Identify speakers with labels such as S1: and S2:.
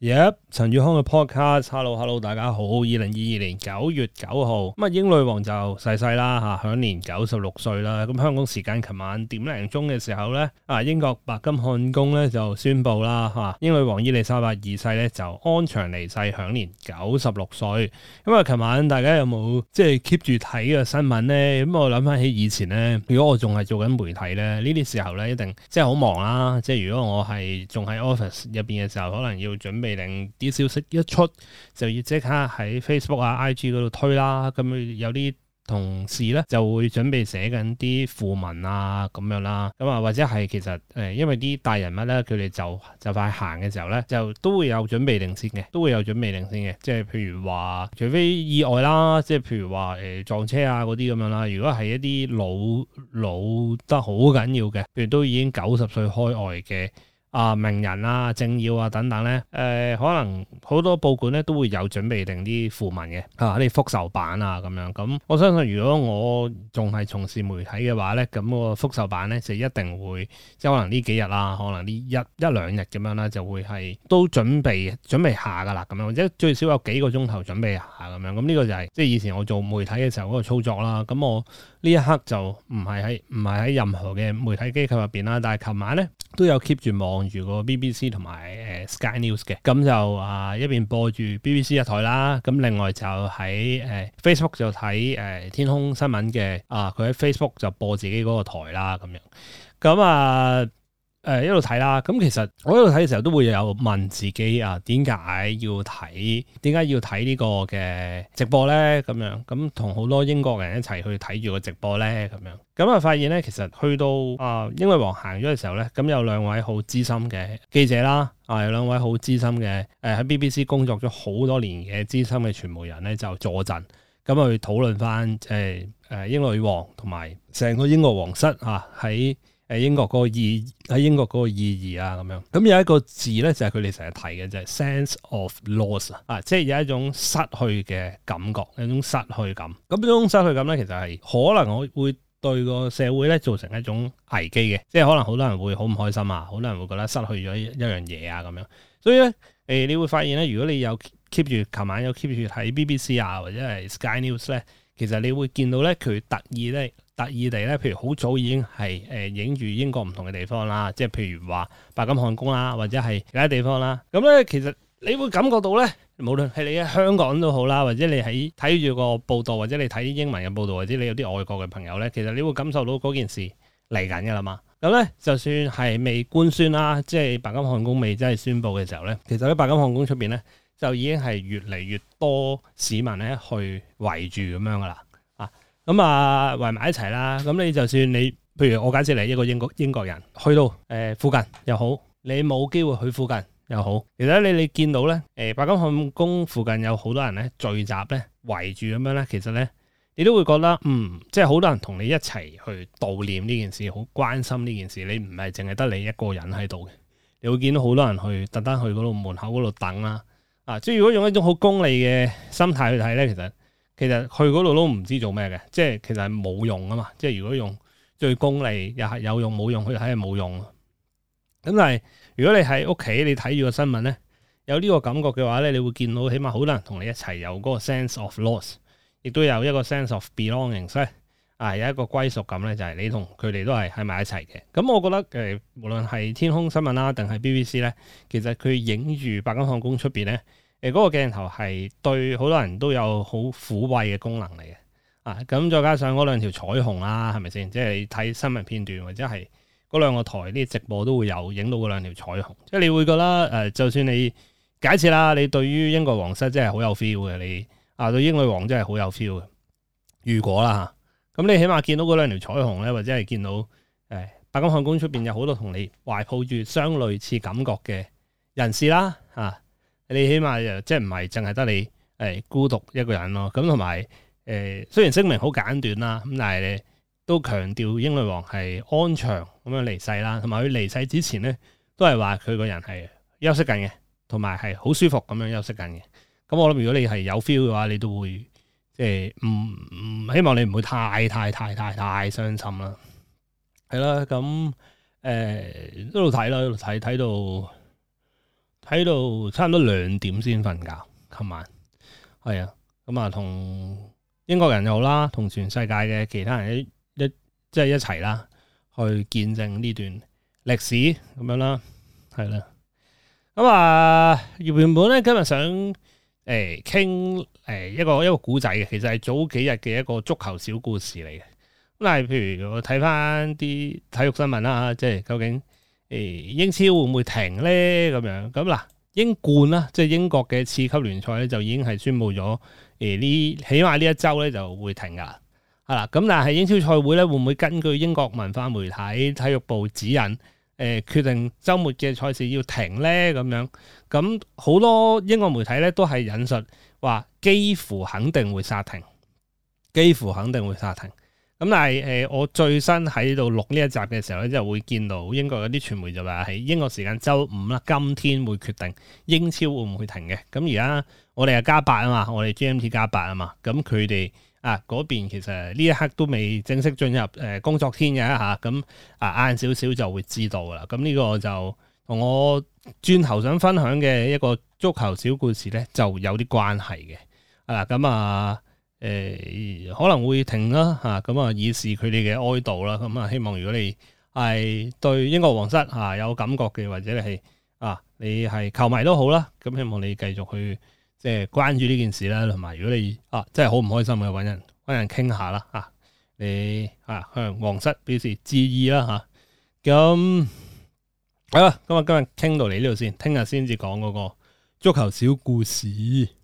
S1: 陳宇康嘅 podcast，hello，大家好。2022年9月9號，咁英女王就逝世啦吓，享年96歲啦。咁香港時間琴晚點零鐘嘅時候咧，英國白金漢宮咧就宣布啦吓，英女王伊麗莎白二世咧就安詳離世，享年96歲。咁啊，琴晚大家有冇即係 keep 住睇嘅新聞咧？咁我諗翻起以前咧，如果我仲係做緊媒體咧，呢啲時候咧一定即係好忙啦。即係如果我係仲喺 office 入邊嘅時候，可能要準備令啲消息一出就要即刻喺 Facebook 啊、IG 嗰度推啦。咁有啲同事咧就會準備寫緊啲訃文啊咁樣啦。咁啊或者係其實因為啲大人物咧佢哋就快行嘅時候咧，就都會有準備定先嘅，即係譬如話除非意外啦，即係譬如話撞車啊嗰啲咁樣啦。如果係一啲老得好緊要嘅，譬如都已經90歲開外嘅名人啊、政要啊等等咧，可能好多報館咧都會有準備定啲訃文嘅，啲復仇版啊咁樣。咁我相信如果我仲係從事媒體嘅話咧，咁個復仇版咧就一定會即係可能呢幾日啦，可能呢一兩日咁樣啦，就會係都準備下噶啦咁樣，或者最少有幾個鐘頭準備下咁樣。咁呢個就係即係以前我做媒體嘅時候嗰個操作啦。咁我呢一刻就唔係喺任何嘅媒體機構入邊啦，但係琴晚咧都有 keep 住望住個 BBC 同埋Sky News 嘅，咁就一邊播住 BBC 一台啦，咁另外就喺Facebook 就睇天空新聞嘅，佢喺 Facebook 就播自己嗰個台啦咁樣，咁一路睇啦。咁其實我一路睇嘅時候都會有問自己點解要睇呢個嘅直播咧？咁樣咁同好多英國人一齊去睇住個直播咧？咁樣發現咧，其實去到英女王行咗嘅時候咧，咁有兩位好資深嘅記者啦，有兩位好資深嘅喺 BBC 工作咗好多年嘅資深嘅傳媒人咧，就坐鎮咁去討論翻英女王同埋成個英國皇室喺英國嗰個意義啊咁樣。咁有一個字咧就係佢哋成日提嘅，就係 sense of loss 即係有一種失去嘅感覺，有一種失去感。咁呢種失去感咧，其實係可能我會對個社會咧造成一種危機嘅，即係可能好多人會好唔開心啊，好多人會覺得失去咗一樣嘢啊咁樣。所以咧你會發現咧，如果你有 keep 住琴晚有 keep 住睇 BBC 或者係 Sky News 咧，其實你會見到咧佢特意地咧，譬如好早已經係影住英國唔同嘅地方啦，即係譬如話白金漢宮啦，或者係其他地方啦。咁咧其實你會感覺到咧，無論係你喺香港都好啦，或者你喺睇住個報道，或者你睇啲英文嘅報道，或者你有啲外國嘅朋友咧，其實你會感受到嗰件事嚟緊㗎啦嘛。咁咧就算係未官宣啦，即係白金漢宮未真係宣布嘅時候咧，其實喺白金漢宮出邊咧就已經係越嚟越多市民咧去圍住咁樣㗎啦。圍埋一齊啦。咁你就算你，譬如我假設你一個英國人去到附近又好，你冇機會去附近又好，其實你見到咧白金漢宮附近有好多人咧聚集咧圍住咁樣咧，其實咧你都會覺得即係好多人同你一齊去悼念呢件事，好關心呢件事。你唔係淨係得你一個人喺度嘅，你會見到好多人去特登去嗰度門口嗰度等啦。即係如果用一種好功利嘅心態去睇咧，其實去嗰度都唔知做咩嘅，即係其實係冇用啊嘛。即係如果用最功利又係有用冇用，去睇係冇用。咁但係如果你喺屋企你睇住個新聞咧，有呢個感覺嘅話咧，你會見到起碼好多人同你一齊有嗰個 sense of loss， 亦都有一個 sense of belonging， 所以有一個歸屬感咧，就係你同佢哋都係喺埋一齊嘅。咁我覺得無論係天空新聞啦，定係 BBC 咧，其實佢影住白金漢宮出邊咧。嗰個鏡頭係對好多人都有好撫慰嘅功能嚟嘅，咁再加上嗰兩條彩虹啦，係咪先？即係你睇新聞片段或者係嗰兩個台啲直播都會有影到嗰兩條彩虹，即係你會覺得就算你假設啦，你對於英國皇室真係好有 feel 嘅，你對英女王真係好有 feel 嘅。如果啦咁你起碼見到嗰兩條彩虹咧，或者係見到白金漢宮出邊有好多同你懷抱住相類似感覺嘅人士啦，你起碼即係唔係淨係得你孤獨一個人咯。咁同埋雖然聲明好簡短啦，咁但係你都強調英女王係安詳咁樣離世啦，同埋佢離世之前咧都係話佢個人係休息緊嘅，同埋係好舒服咁樣休息緊嘅。咁我諗如果你係有 feel 嘅話，你都會即係唔希望你唔會太傷心啦。係啦，咁一路睇啦，一路睇睇到差唔多2點先瞓覺。琴晚係啊，咁啊同英國人又好啦，同全世界嘅其他人即係一齊啦，去見證呢段歷史咁樣啦，係啦。咁啊，原本咧今日想傾一個古仔嘅，其實係早幾日嘅一個足球小故事嚟嘅。咁但係譬如我睇翻啲體育新聞啦，即係究竟英超會唔會停咧？咁樣咁嗱，英冠啦，即係英國嘅次級聯賽咧，就已經係宣布咗起碼呢一周咧就會停噶啦。係啦，咁但係英超賽會咧會唔會根據英國文化媒體體育部指引？決定週末嘅賽事要停咧，咁樣咁好多英國媒體咧都係引述話幾乎肯定會煞停，幾乎肯定會煞停。咁但係我最新喺度錄呢一集嘅時候咧，就會見到英國有啲傳媒就話喺英國時間週五啦，今天會決定英超會唔會停嘅。咁而家我哋係加8啊嘛，我哋 GMT 加8啊嘛，咁佢哋。嗰邊其實呢一刻都未正式進入工作天嘅嚇，咁晏少少就會知道啦。咁呢個就同我轉頭想分享嘅一個足球小故事咧，就有啲關係嘅。可能會停啦嚇，咁以示佢哋嘅哀悼啦。咁希望如果你係對英國皇室有感覺嘅，或者你係球迷都好啦，咁希望你繼續去。即係關注呢件事啦，同埋如果你真係好唔開心嘅，揾人傾下啦嚇，你向皇室表示致意啦嚇。咁好啦，今日傾到嚟呢度先，聽日先至講嗰個足球小故事。